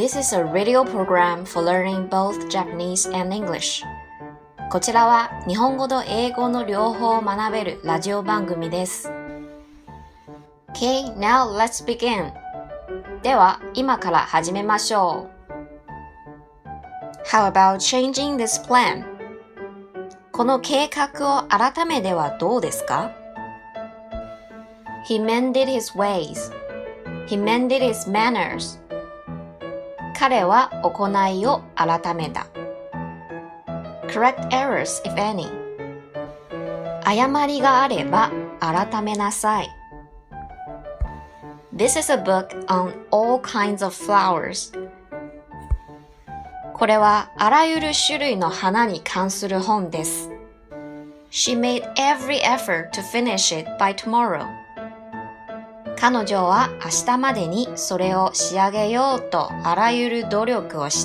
This is a radio program for learning both Japanese and English. こちらは日本語と英語の両方を学べるラジオ番組です。Okay, now let's begin. では、今から始めましょう。How about changing this plan? この計画を改めてはどうですか？ He mended his ways. He mended his manners. 彼は行いを改めた。Correct errors, if any. 誤りがあれば改めなさい。This is a book on all kinds of flowers. これはあらゆる種類の花に関する本です。She made every effort to finish it by tomorrow. 彼女は明日までにそれを仕上げようとあらゆる努力をした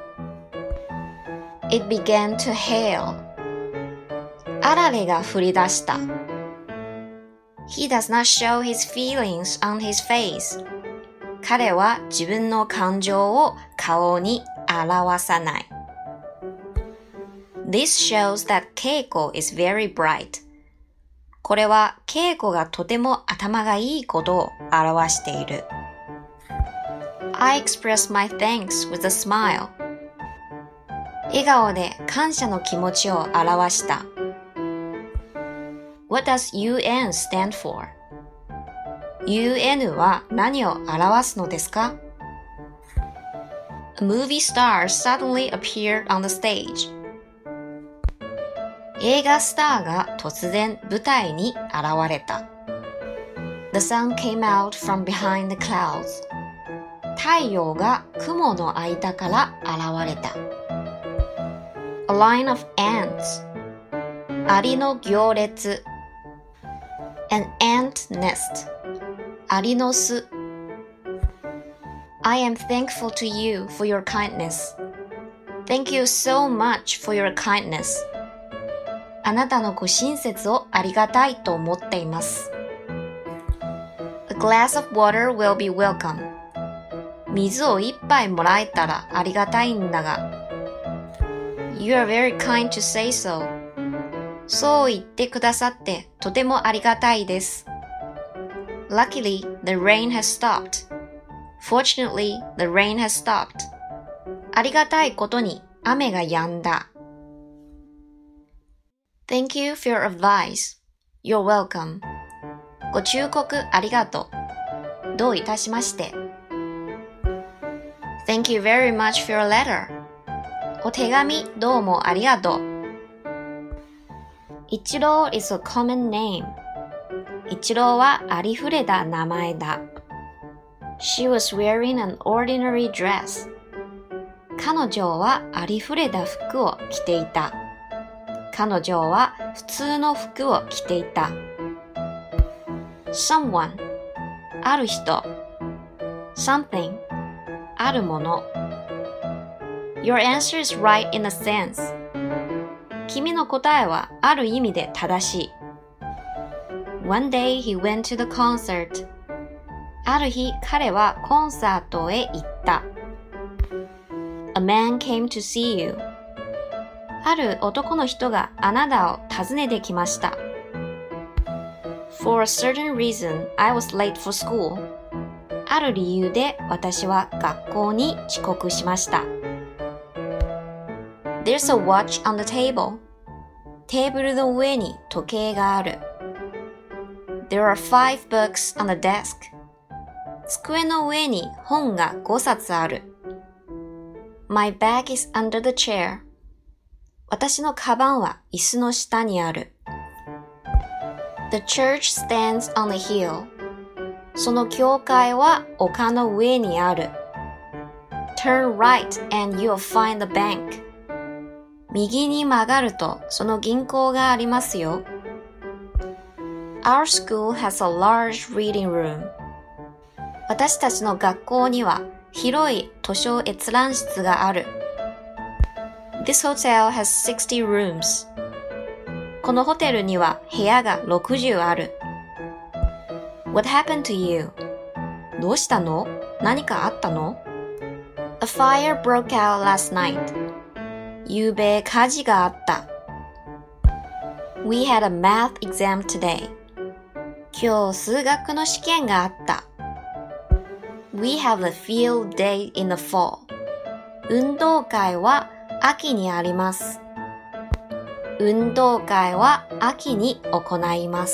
。It began to hail. あられが降り出した。He does not show his feelings on his face. 彼は自分の感情を顔に表さない。This shows that Keiko is very bright. これはケイコがとても頭がいいことを表している。I express my thanks with a smile. 笑顔で感謝の気持ちを表した。What does UN stand for? UN は何を表すのですか？ A movie star suddenly appeared on the stage. 映画スターが突然舞台に現れた。The sun came out from behind the clouds. 太陽が雲の間から現れた。A line of ants. アリの行列。An ant nest. アリの巣。I am thankful to you for your kindness. Thank you so much for your kindness.あなたのご親切をありがたいと思っています。A glass of water will be welcome. 水を一杯もらえたらありがたいんだが。You are very kind to say so. そう言ってくださってとてもありがたいです。Luckily, the rain has stopped. Fortunately, the rain has stopped. ありがたいことに雨が止んだ。Thank you for your advice. You're welcome. ご忠告ありがとう。どういたしまして。Thank you very much for your letter. お手紙どうもありがとう。一郎 is a common name. 一郎はありふれた名前だ。She was wearing an ordinary dress. 彼女はありふれた服を着ていた。彼女は普通の服を着ていた。Someone ある人 Something あるもの Your answer is right in a sense 君の答えはある意味で正しい。One day he went to the concert ある日彼はコンサートへ行った。A man came to see youある男の人があなたを訪ねてきました。For a certain reason, I was late for school. ある理由で私は学校に遅刻しました。There's a watch on the table. テーブルの上に時計がある。There are 5 books on the desk. 机の上に本が5冊ある。My bag is under the chair.私のカバンは椅子の下にある。The church stands on the hill. その教会は丘の上にある。Turn right and you'll find the bank. 右に曲がるとその銀行がありますよ。Our school has a large reading room. 私たちの学校には広い図書閲覧室がある。This hotel has 60 rooms. このホテルには部屋が60ある。What happened to you? どうしたの？何かあったの？ A fire broke out last night. ゆうべ火事があった。We had a math exam today. 今日数学の試験があった。We have a field day in the fall. 運動会は秋にあります。運動会は秋に行います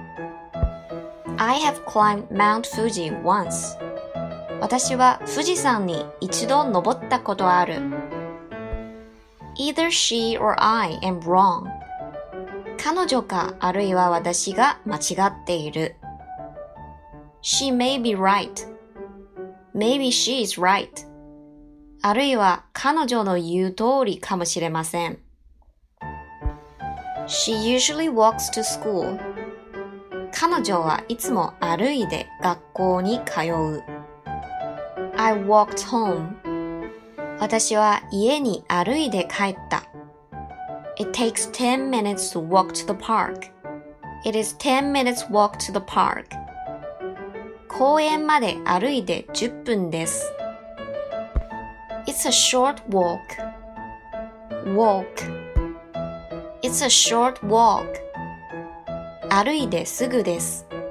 。I have climbed Mount Fuji once. 私は富士山に一度登ったことある。Either she or I am wrong. 彼女かあるいは私が間違っている。She may be right. Maybe she is right. あるいは彼女の言う通りかもしれません。She usually walks to school. 彼女はいつも歩いて学校に通う。I walked home. 私は家に歩いて帰った。It takes 10 minutes to walk to the park. It is 10 minutes walk to the park. 公園まで歩いて10分です。It's a short walk. Walk. It's a short walk. 歩いてすぐです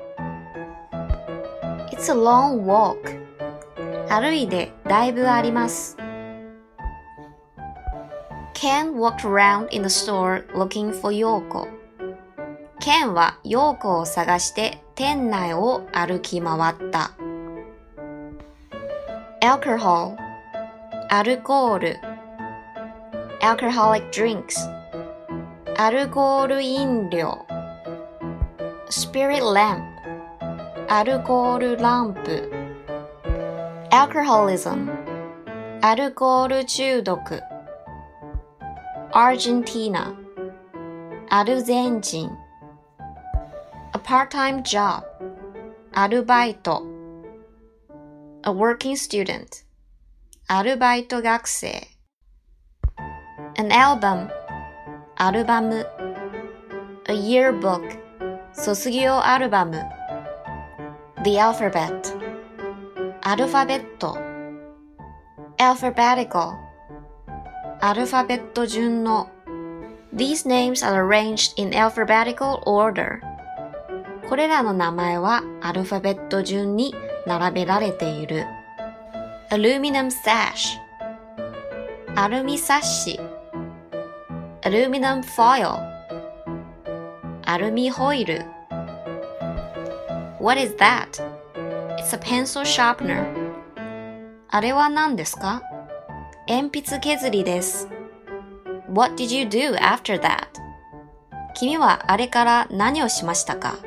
。It's a long walk. 歩いてだいぶあります。Ken walked around in the store looking for Yoko. Ken はヨーコを探して店内を歩き回った。Alcohol. アルコール。Alcoholic drinks. アルコール飲料。Spirit lamp. アルコールランプ。Alcoholism. アルコール中毒。Argentina. アルゼンチン。A part-time job. アルバイト。A working student. アルバイト学生。An album. アルバム。A yearbook. 卒業アルバム。The alphabet. アルファベット。Alphabetical. アルファベット順の。These names are arranged in alphabetical order. これらの名前はアルファベット順に並べられている。Aluminum sash. アルミサッシ。Aluminum foil. アルミホイル。What is that? It's a pencil sharpener. あれは何ですか？鉛筆削りです。What did you do after that? 君はあれから何をしましたか？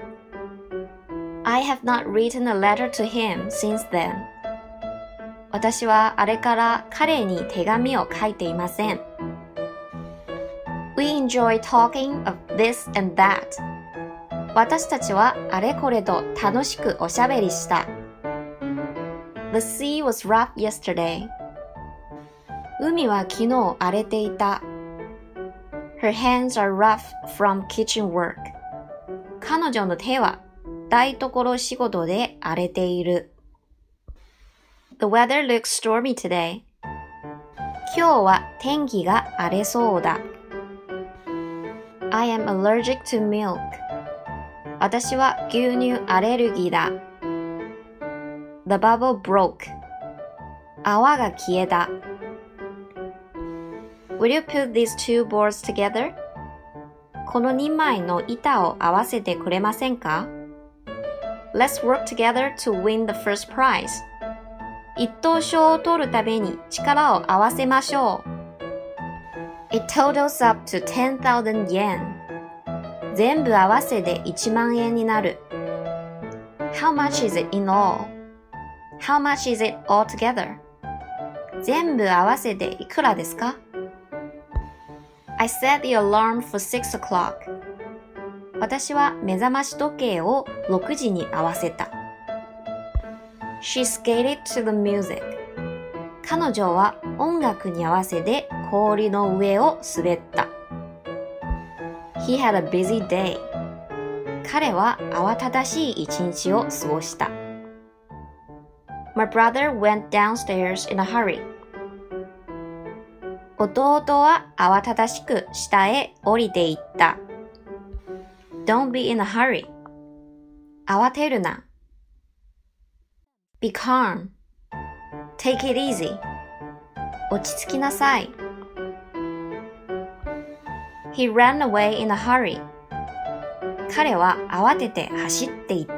I have not written a letter to him since then. 私はあれから彼に手紙を書いていません。We enjoy talking of this and that. 私たちはあれこれと楽しくおしゃべりした。The sea was rough yesterday. 海は昨日荒れていた。Her hands are rough from kitchen work. 彼女の手は台所仕事で荒れている。The weather looks stormy today. 今日は天気が荒れそうだ。I am allergic to milk. 私は牛乳アレルギーだ。The bubble broke. 泡が消えた。Will you put these two boards together? この2枚の板を合わせてくれませんか？ Let's work together to win the first prize. 一等賞を取るために力を合わせましょう。It totals up to 10,000 yen. 全部合わせて1万円になる。How much is it in all? How much is it all together? 全部合わせていくらですか？ I set the alarm for 6 o'clock. 私は目覚まし時計を6時に合わせた。She skated to the music. 彼女は音楽に合わせて氷の上を滑った。He had a busy day. 彼は慌ただしい一日を過ごした。My brother went downstairs in a hurry. 弟は慌ただしく下へ降りていった。Don't be in a hurry. 慌てるな。Be calm. Take it easy. 落ち着きなさい。He ran away in a hurry. 彼は慌てて走っていった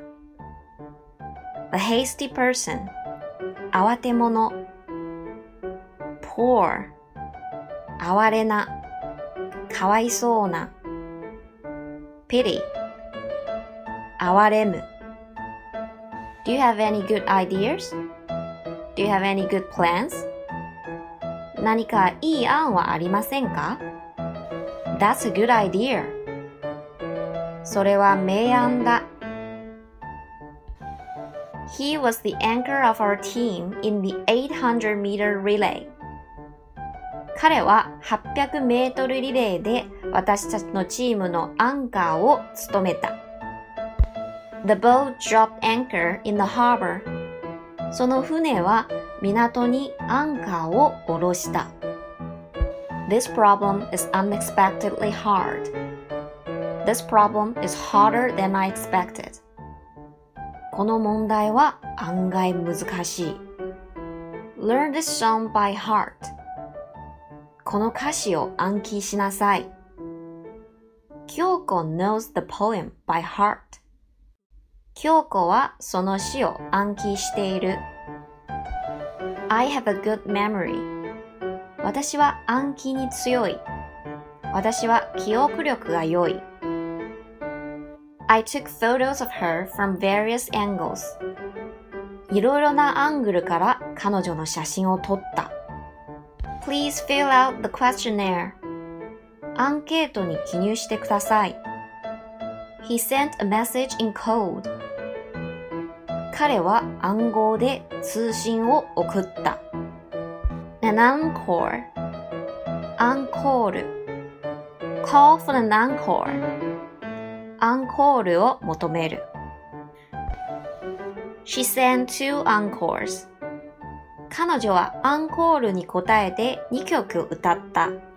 。A hasty person. 慌て者。Poor. 哀れな。かわいそうな。Pity. 哀れむ。Do you have any good ideas? Do you have any good plans? 何かいい案はありませんか？ That's a good idea. それは名案だ。He was the anchor of our team in the 800-meter relay. 彼は800メートルリレーで私たちのチームのアンカーを務めた。The boat dropped anchor in the harbor. その船は港にアンカーを下ろした。This problem is unexpectedly hard. This problem is harder than I expected. この問題は案外難しい。Learn this song by heart. この歌詞を暗記しなさい。京子 knows the poem by heart. 京子はその詩を暗記している。I have a good memory. 私は暗記に強い。私は記憶力が良い。I took photos of her from various angles. いろいろなアングルから彼女の写真を撮った。Please fill out the questionnaire. アンケートに記入してください。He sent a message in code. 彼は暗号で通信を送った。An encore. アンコール。Call for an encore. アンコールを求める。She sang 2 encores. 彼女はアンコールに答えて2曲歌った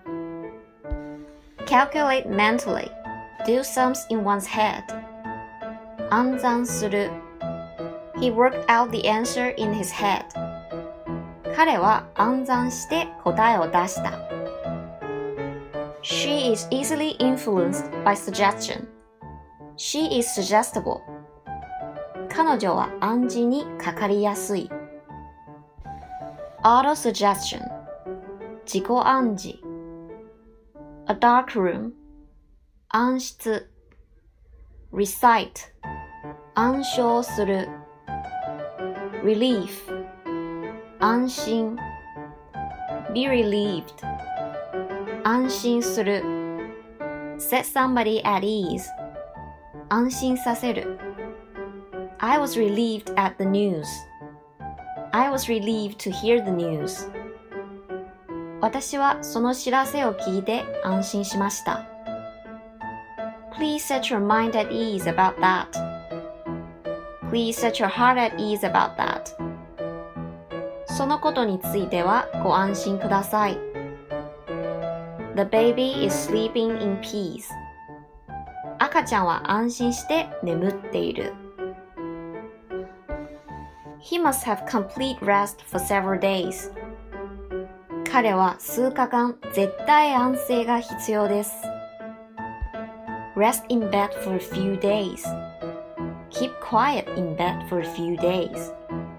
。Calculate mentally. Do sums in one's head. 暗算する。He worked out the answer in his head. 彼は暗算して答えを出した。She is easily influenced by suggestion. She is suggestible. 彼女は暗示にかかりやすい。Auto-suggestion. 自己暗示。A dark room. 暗室。Recite. 暗唱する。Relief. 安心。Be relieved. 安心する。Set somebody at ease. 安心させる。I was relieved at the news. I was relieved to hear the news. 私はその知らせを聞いて安心しました。Please set your mind at ease about that. Please set your heart at ease about that. そのことについてはご安心ください。The baby is sleeping in peace. 赤ちゃんは安心して眠っている。He must have complete rest for several days. 彼は数日間絶対安静が必要です。Rest in bed for a few days. Keep quiet in bed for a few days.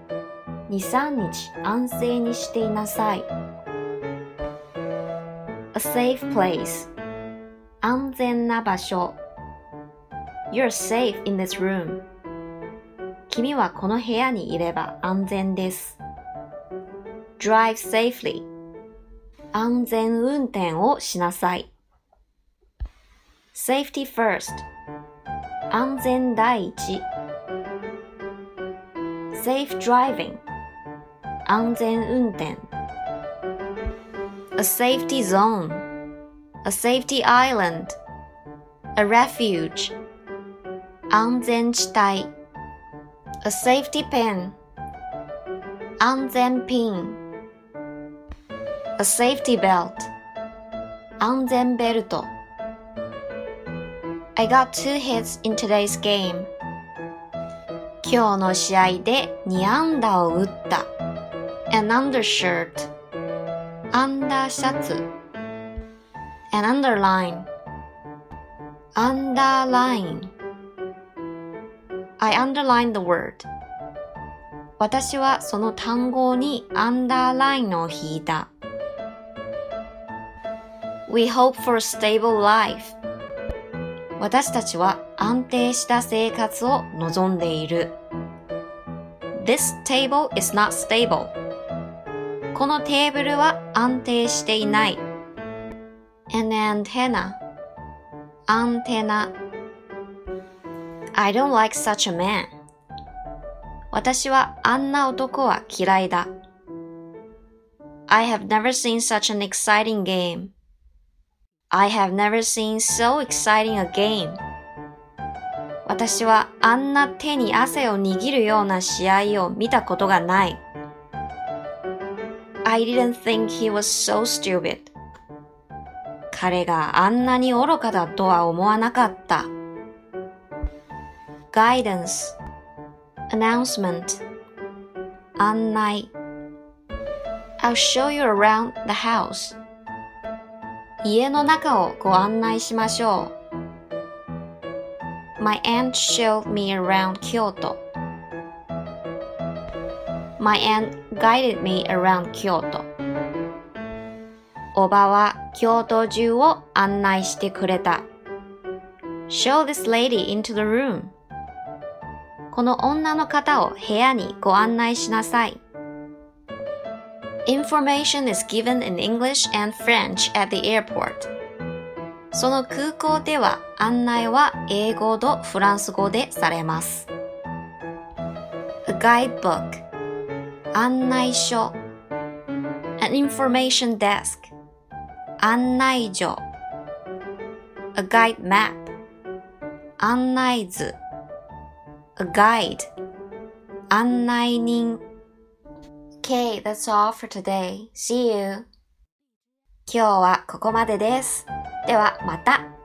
2、3日安静にしていなさい。A safe place. 安全な場所。You're safe in this room. 君はこの部屋にいれば安全です。Drive safely. 安全運転をしなさい。Safety first. 安全第一。Safe driving. 安全運転。A safety zone. A safety island. A refuge. 安全地帯。A safety pin. 安全ピン。 A safety belt. 安全ベルト。I got 2 hits in today's game. 今日の試合で2安打を打った。An undershirt. アンダーシャツ。An underline. Underline. I underlined the word. 私はその単語にアンダーラインを引いた。We hope for a stable life. 私たちは安定した生活を望んでいる。This table is not stable. このテーブルは安定していない。An antenna. アンテナ。I don't like such a man. 私はあんな男は嫌いだ。I have never seen such an exciting game. I have never seen so exciting a game. 私はあんな手に汗を握るような試合を見たことがない。I didn't think he was so stupid. 彼があんなに愚かだとは思わなかった。Guidance. Announcement. 案内。I'll show you around the house. 家の中をご案内しましょう。My aunt showed me around Kyoto. My aunt guided me around Kyoto. おばは京都中を案内してくれた。Show this lady into the room. この女の方を部屋にご案内しなさい。Information is given in English and French at the airport. その空港では案内は英語とフランス語でされます。A guidebook. 案内書。An information desk. 案内所。A guide map. 案内図。A guide. 案内人。Okay, that's all for today. See you. 今日はここまでです。ではまた。